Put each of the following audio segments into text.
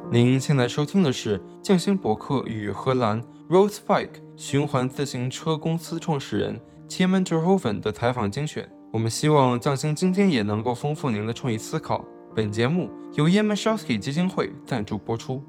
您现在收听的是匠心博客与荷兰 Roadspike 循环自行车公司创始人 Tiemen Terhoven 的采访精选。我们希望匠心今天也能够丰富您的创意思考。本节目由 Yamashowski 基金会赞助播出。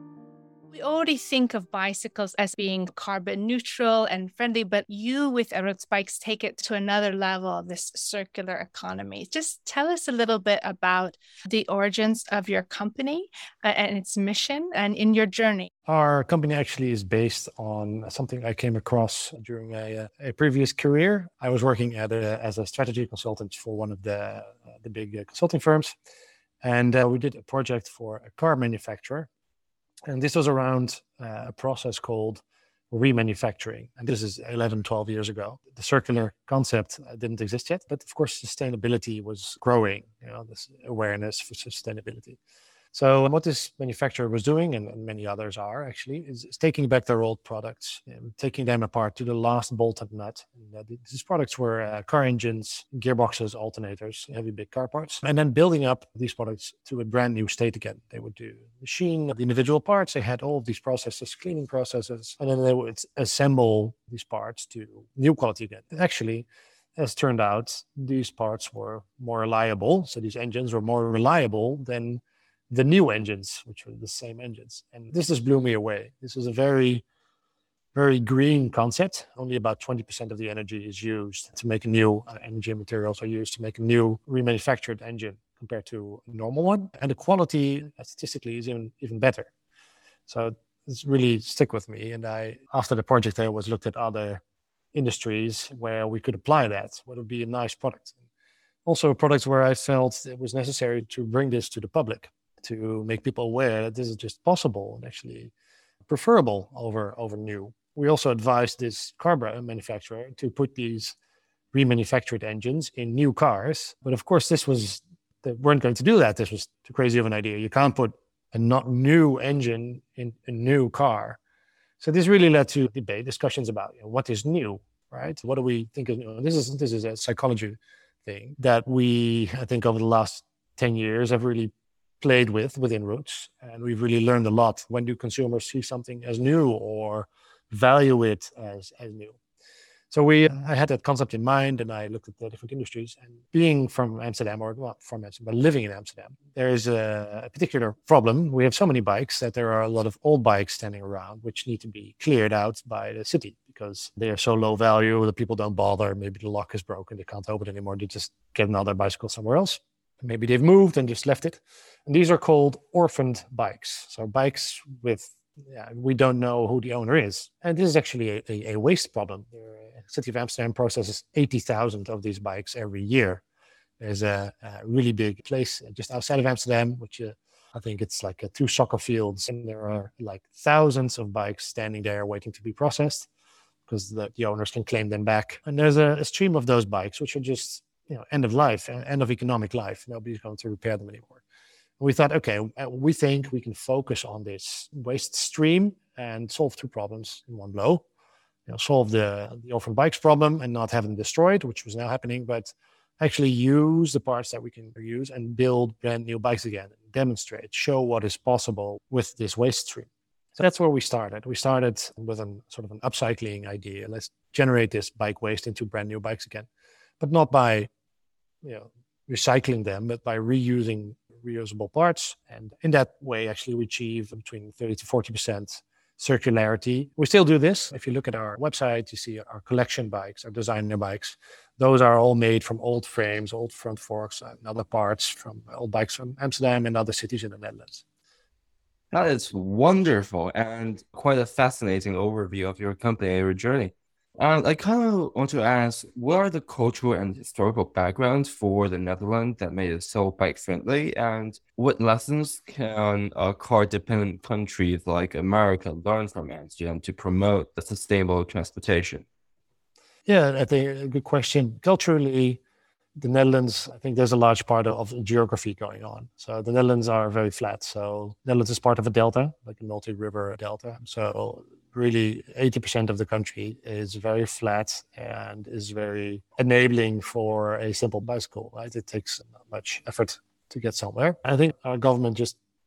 We already think of bicycles as being carbon neutral and friendly, but you with Road Bikes take it to another level of this circular economy. Just tell us a little bit about the origins of your company and its mission and in your journey. Our company actually is based on something I came across during a previous career. I was working as a strategy consultant for one of the big consulting firms. And we did a project for a car manufacturer. And this was around a process called remanufacturing. And this is 11, 12 years ago. The circular concept didn't exist yet, but of course, sustainability was growing, this awareness for sustainability. So what this manufacturer was doing, and many others are actually, is taking back their old products and taking them apart to the last bolt and nut. And, these products were car engines, gearboxes, alternators, heavy big car parts, and then building up these products to a brand new state again. They would machine the individual parts. They had all of these processes, cleaning processes, and then they would assemble these parts to new quality again. Actually, as turned out, these parts were more reliable. So these engines were more reliable than the new engines, which were the same engines. And this just blew me away. This is a very, very green concept. Only about 20% of the energy is used to make a new energy, materials are used to make a new remanufactured engine compared to a normal one. And the quality statistically is even better. So it's really stick with me. And after the project, I was looked at other industries where we could apply that. What would be a nice product? Also a product where I felt it was necessary to bring this to the public, to make people aware that this is just possible and actually preferable over new. We also advised this car manufacturer to put these remanufactured engines in new cars. But of course, they weren't going to do that. This was too crazy of an idea. You can't put a not new engine in a new car. So this really led to discussions about what is new, right? What do we think of new? This is a psychology thing that I think over the last 10 years have really played within Roots, and we've really learned a lot. When do consumers see something as new or value it as new? So I had that concept in mind, and I looked at the different industries. And being from Amsterdam, or not from Amsterdam, but living in Amsterdam, there is a particular problem. We have so many bikes that there are a lot of old bikes standing around, which need to be cleared out by the city because they are so low value that people don't bother. Maybe the lock is broken, they can't open it anymore. They just get another bicycle somewhere else. Maybe they've moved and just left it. And these are called orphaned bikes. So bikes we don't know who the owner is. And this is actually a waste problem. The city of Amsterdam processes 80,000 of these bikes every year. There's a really big place just outside of Amsterdam, which I think it's like 2 soccer fields. And there are like thousands of bikes standing there waiting to be processed because the owners can claim them back. And there's a stream of those bikes, which are just end of life, end of economic life. Nobody's going to repair them anymore. And we thought, okay, we think we can focus on this waste stream and solve 2 problems in one blow. Solve the orphan bikes problem and not have them destroyed, which was now happening, but actually use the parts that we can use and build brand new bikes again, demonstrate, show what is possible with this waste stream. So that's where we started. We started with a sort of an upcycling idea. Let's generate this bike waste into brand new bikes again, but not by recycling them, but by reusing reusable parts. And in that way, actually, we achieve between 30 to 40% circularity. We still do this. If you look at our website, you see our collection bikes, our designer bikes. Those are all made from old frames, old front forks, and other parts from old bikes from Amsterdam and other cities in the Netherlands. That is wonderful and quite a fascinating overview of your company and your journey. And I kind of want to ask, what are the cultural and historical backgrounds for the Netherlands that made it so bike-friendly? And what lessons can car-dependent countries like America learn from Amsterdam to promote the sustainable transportation? Yeah, I think a good question. Culturally, the Netherlands, I think there's a large part of geography going on. So the Netherlands are very flat. So Netherlands is part of a delta, like a multi-river delta. So really 80% of the country is very flat and is very enabling for a simple bicycle, right? It takes not much effort to get somewhere. I think our government just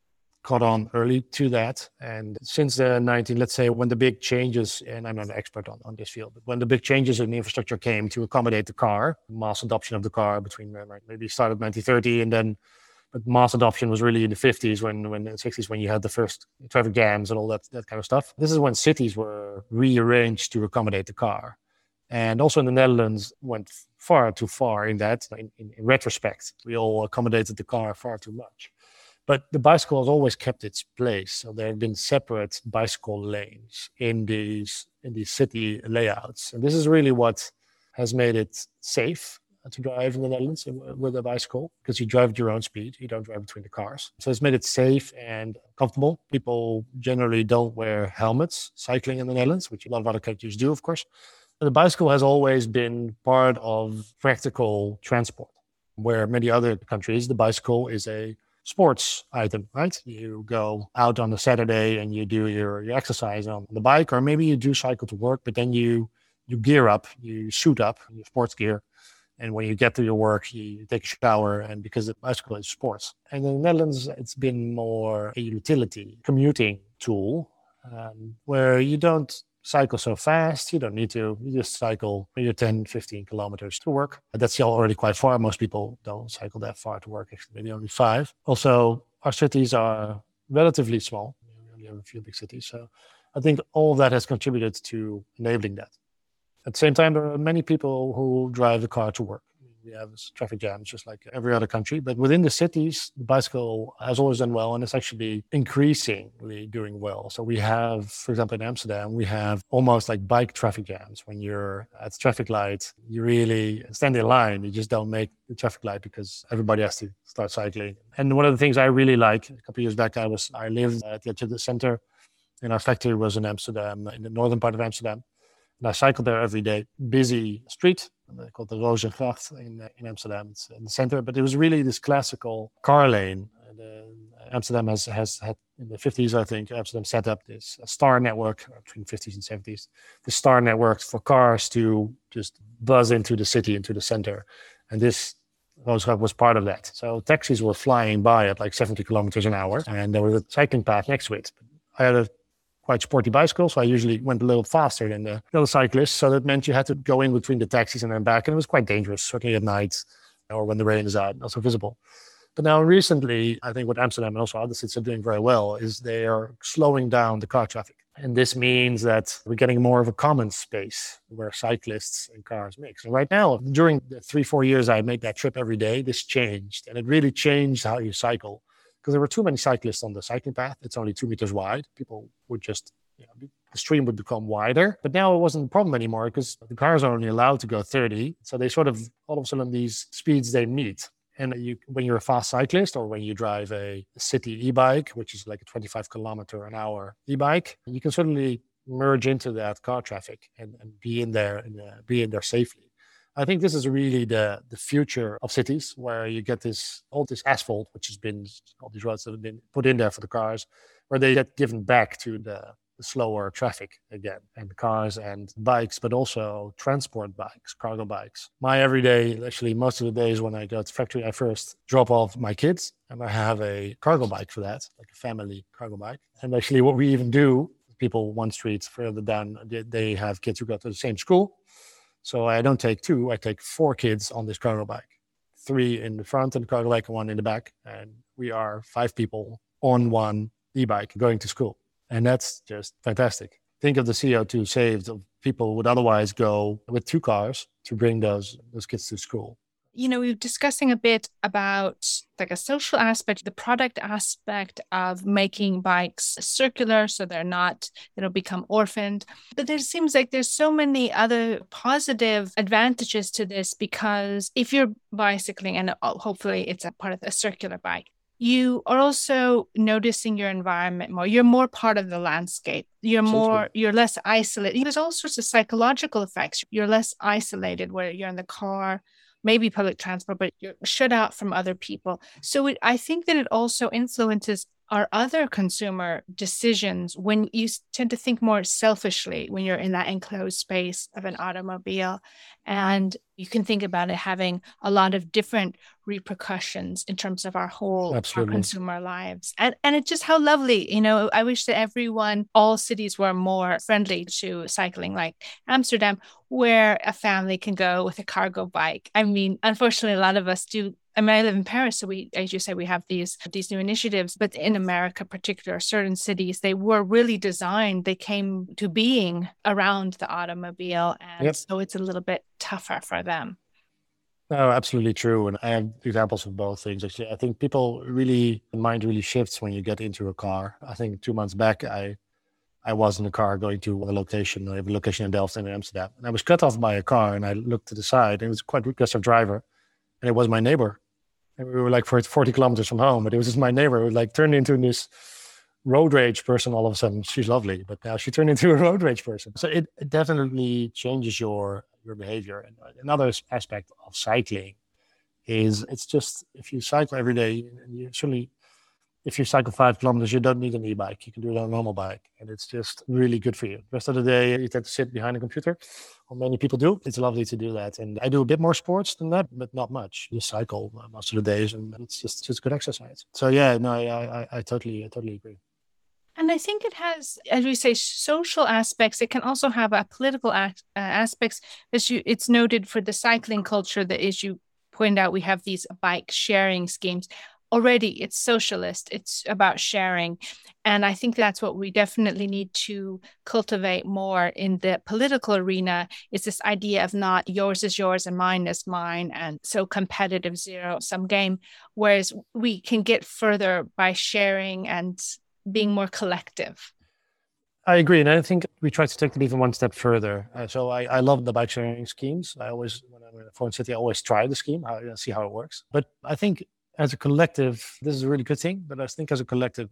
caught on early to that. And since the let's say when the big changes, and I'm not an expert on this field, but when the big changes in the infrastructure came to accommodate the car, mass adoption of the car between maybe started 1930 and then, but mass adoption was really in the 50s, when the 60s, when you had the first traffic jams and all that kind of stuff. This is when cities were rearranged to accommodate the car. And also in the Netherlands went far too far in that. In retrospect, we all accommodated the car far too much. But the bicycle has always kept its place. So there have been separate bicycle lanes in these city layouts. And this is really what has made it safe to drive in the Netherlands with a bicycle, because you drive at your own speed. You don't drive between the cars. So it's made it safe and comfortable. People generally don't wear helmets cycling in the Netherlands, which a lot of other countries do, of course. The bicycle has always been part of practical transport, where many other countries, the bicycle is a sports item, right? You go out on a Saturday and you do your exercise on the bike, or maybe you do cycle to work, but then you gear up, you suit up in your sports gear. And when you get to your work, you take a shower, and because the bicycle is sports. And in the Netherlands, it's been more a utility commuting tool, where you don't cycle so fast. You don't need to. You just cycle your 10, 15 kilometers to work. That's already quite far. Most people don't cycle that far to work, actually, maybe only 5. Also, our cities are relatively small. We only have a few big cities. So I think all of that has contributed to enabling that. At the same time, there are many people who drive the car to work. We have traffic jams just like every other country. But within the cities, the bicycle has always done well, and it's actually increasingly doing well. So we have, for example, in Amsterdam, we have almost like bike traffic jams. When you're at the traffic light, you really stand in line. You just don't make the traffic light because everybody has to start cycling. And one of the things I really like, a couple of years back, I lived at the edge of the center, and our factory was in Amsterdam, in the northern part of Amsterdam. And I cycled there every day. Busy street, called the Rozengracht in Amsterdam. It's in the center, but it was really this classical car lane. Amsterdam has had, in the 50s, I think, Amsterdam set up this star network between the 50s and 70s. The star network for cars to just buzz into the city, into the center. And this Rozengracht was part of that. So taxis were flying by at like 70 kilometers an hour, and there was a cycling path next to it. I had a quite sporty bicycle, so I usually went a little faster than the other cyclists. So that meant you had to go in between the taxis and then back, and it was quite dangerous, certainly at night or when the rain is out, not so visible. But now recently, I think what Amsterdam and also other cities are doing very well is they are slowing down the car traffic. And this means that we're getting more of a common space where cyclists and cars mix. And right now, during the 3-4 years I made that trip every day, this changed. And it really changed how you cycle. Because there were too many cyclists on the cycling path. It's only 2 meters wide. People would just, the stream would become wider. But now it wasn't a problem anymore because the cars are only allowed to go 30. So they sort of, all of a sudden, these speeds they meet. And when you're a fast cyclist, or when you drive a city e-bike, which is like a 25 kilometer an hour e-bike, you can certainly merge into that car traffic and be in there safely. I think this is really the future of cities, where you get all this asphalt, all these roads that have been put in there for the cars, where they get given back to the slower traffic again, and cars and bikes, but also transport bikes, cargo bikes. My everyday, actually most of the days when I go to the factory, I first drop off my kids, and I have a cargo bike for that, like a family cargo bike. And actually what we even do, people one street further down, they have kids who go to the same school. So I don't take 2, I take 4 kids on this cargo bike, 3 in the front and the cargo bike, and 1 in the back. And we are 5 people on one e-bike going to school. And that's just fantastic. Think of the CO2 saved of people who would otherwise go with 2 cars to bring those kids to school. We're discussing a bit about like a social aspect, the product aspect of making bikes circular so they don't become orphaned. But there seems like there's so many other positive advantages to this, because if you're bicycling, and hopefully it's a part of a circular bike, you are also noticing your environment more. You're more part of the landscape. You're less isolated. There's all sorts of psychological effects. You're less isolated where you're in the car, maybe public transport, but you're shut out from other people. So I think that it also influences are other consumer decisions when you tend to think more selfishly when you're in that enclosed space of an automobile? And you can think about it having a lot of different repercussions in terms of our Absolutely. consumer lives. And it's just how lovely, I wish that all cities were more friendly to cycling, like Amsterdam, where a family can go with a cargo bike. I mean, unfortunately, a lot of us do. I mean, I live in Paris, so as you say, we have these new initiatives. But in America, particular certain cities, they were really designed. They came to being around the automobile, and so it's a little bit tougher for them. No, absolutely true. And I have examples of both things. Actually, I think mind really shifts when you get into a car. I think 2 months back, I was in the car going to a location. I have a location in Delft and in Amsterdam, and I was cut off by a car. And I looked to the side, and it was quite a aggressive driver, and it was my neighbor. And we were like 40 kilometers from home, but it was just my neighbor who like turned into this road rage person all of a sudden. She's lovely, but now she turned into a road rage person. So it definitely changes your behavior. And another aspect of cycling is it's just, if you cycle every day, and if you cycle 5 kilometers, you don't need an e-bike. You can do it on a normal bike, and it's just really good for you. The rest of the day, you tend to sit behind a computer, or many people do. It's lovely to do that. And I do a bit more sports than that, but not much. Just cycle most of the days, and it's just good exercise. So yeah, no, I totally agree. And I think it has, as we say, social aspects. It can also have a political aspects. It's noted for the cycling culture that, as you point out, we have these bike sharing schemes. Already, it's socialist. It's about sharing. And I think that's what we definitely need to cultivate more in the political arena, is this idea of not yours is yours and mine is mine, and so competitive zero-sum game, whereas we can get further by sharing and being more collective. I agree. And I think we try to take it even one step further. So I love the bike sharing schemes. When I'm in a foreign city, I always try the scheme, see how it works. But I think as a collective, this is a really good thing. But I think as a collective,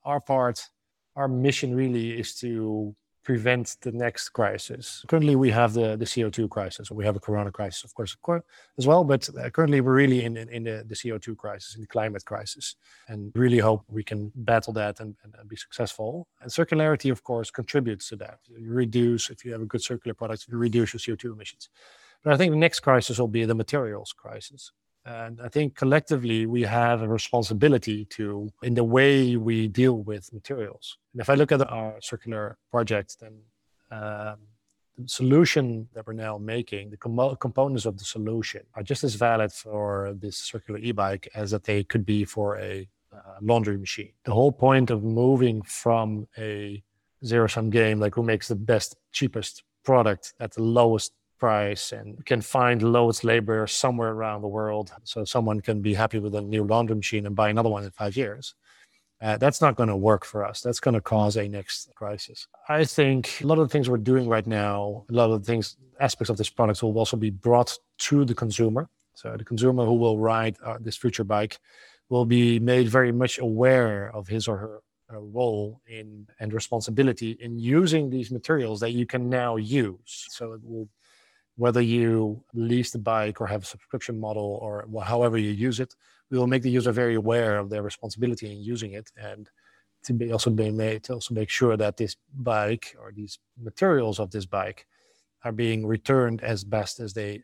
our mission really is to prevent the next crisis. Currently, we have the CO2 crisis, or we have a corona crisis, of course, as well. But currently, we're really in the CO2 crisis, in the climate crisis, and really hope we can battle that and be successful. And circularity, of course, contributes to that. If you have a good circular product, you reduce your CO2 emissions. But I think the next crisis will be the materials crisis. And I think collectively we have a responsibility in the way we deal with materials. And if I look at our circular project, then the solution that we're now making, the components of the solution are just as valid for this circular e-bike as that they could be for a laundry machine. The whole point of moving from a zero-sum game, like who makes the best, cheapest product at the lowest price and can find the lowest labor somewhere around the world, so someone can be happy with a new laundry machine and buy another one in 5 years. That's not going to work for us. That's going to cause a next crisis. I think a lot of the things we're doing right now, aspects of this product will also be brought to the consumer. So the consumer who will ride this future bike will be made very much aware of his or her role and responsibility in using these materials that you can now use. So it will, whether you lease the bike or have a subscription model or however you use it, we will make the user very aware of their responsibility in using it, and to make sure that this bike or these materials of this bike are being returned as best as they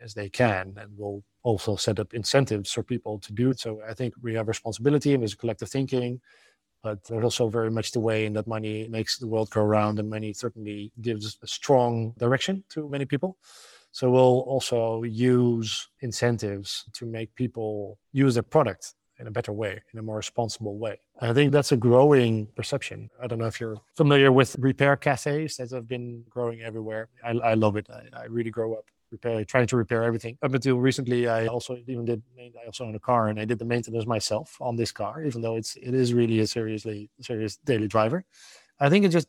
can, and we'll also set up incentives for people to do it. So I think we have responsibility and there's collective thinking, but there's also very much the way in that money makes the world go around, and money certainly gives a strong direction to many people. So we'll also use incentives to make people use their product in a better way, in a more responsible way. I think that's a growing perception. I don't know if you're familiar with repair cafes that have been growing everywhere. I love it. I really grew up trying to repair everything. Up until recently, I also own a car, and I did the maintenance myself on this car, even though it is really a serious daily driver. I think it just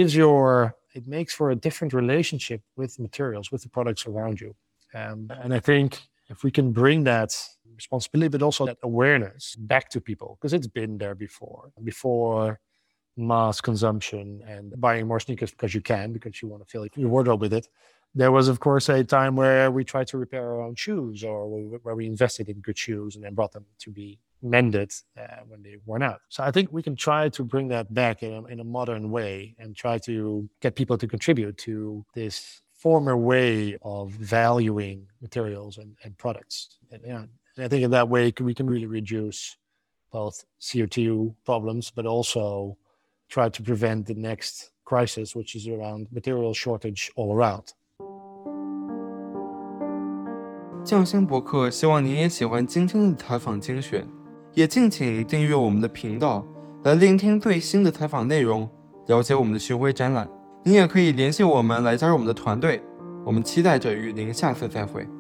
it makes for a different relationship with materials, with the products around you. And I think if we can bring that responsibility, but also that awareness back to people, because it's been there before mass consumption and buying more sneakers because you want to fill your wardrobe with it. There was, of course, a time where we tried to repair our own shoes, or where we invested in good shoes and then brought them to be mended when they worn out. So I think we can try to bring that back in a modern way and try to get people to contribute to this former way of valuing materials and products. And I think in that way we can really reduce both CO2 problems, but also try to prevent the next crisis, which is around material shortage all around. 匠心博客希望您也喜欢今天的采访精选，也敬请订阅我们的频道，来聆听最新的采访内容，了解我们的巡回展览。您也可以联系我们来加入我们的团队，我们期待着与您下次再会。